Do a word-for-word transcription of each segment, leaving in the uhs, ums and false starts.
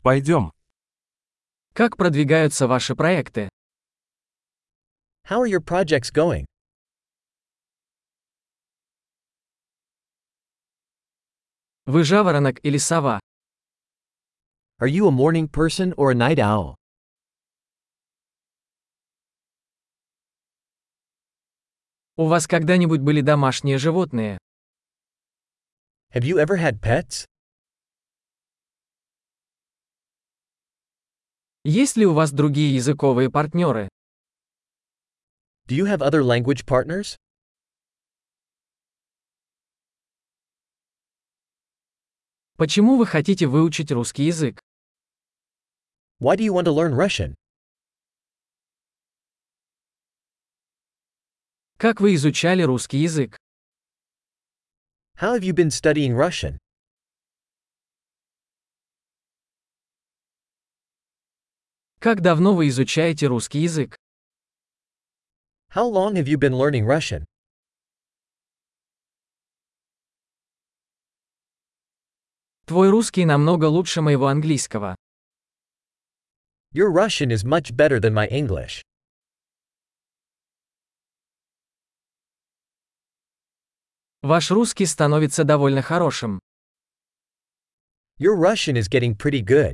Пойдем. Как продвигаются ваши проекты? How are your projects going? Вы жаворонок или сова? Are you a morning person or a night owl? У вас когда-нибудь были домашние животные? Have you ever had pets? Есть ли у вас другие языковые партнеры? Do you have other language partners? Почему вы хотите выучить русский язык? Why do you want to learn Russian? Как вы изучали русский язык? How have you been studying Russian? Как давно вы изучаете русский язык? How long have you been learning Russian? Твой русский намного лучше моего английского. Your Russian is much better than my English. Ваш русский становится довольно хорошим. Your Russian is getting pretty good.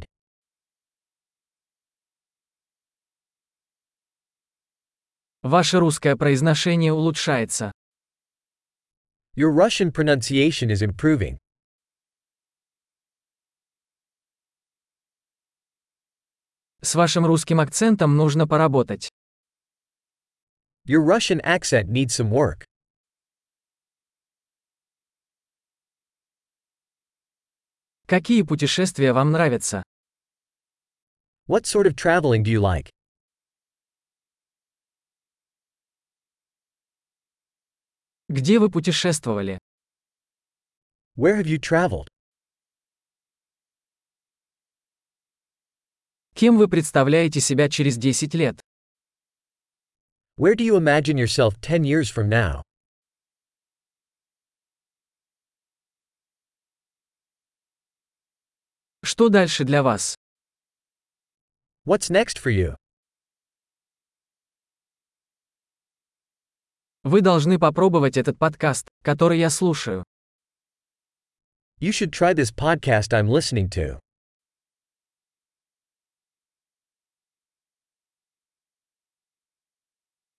Ваше русское произношение улучшается. Your Russian pronunciation is improving. С вашим русским акцентом нужно поработать. Your Russian accent needs some work. Какие путешествия вам нравятся? What sort of traveling do you like? Где вы путешествовали? Where have you traveled? Кем вы представляете себя через десять лет? Where do you imagine yourself ten years from now? Что дальше для вас? What's next for you? Вы должны попробовать этот подкаст, который я слушаю. You should try this podcast I'm listening to.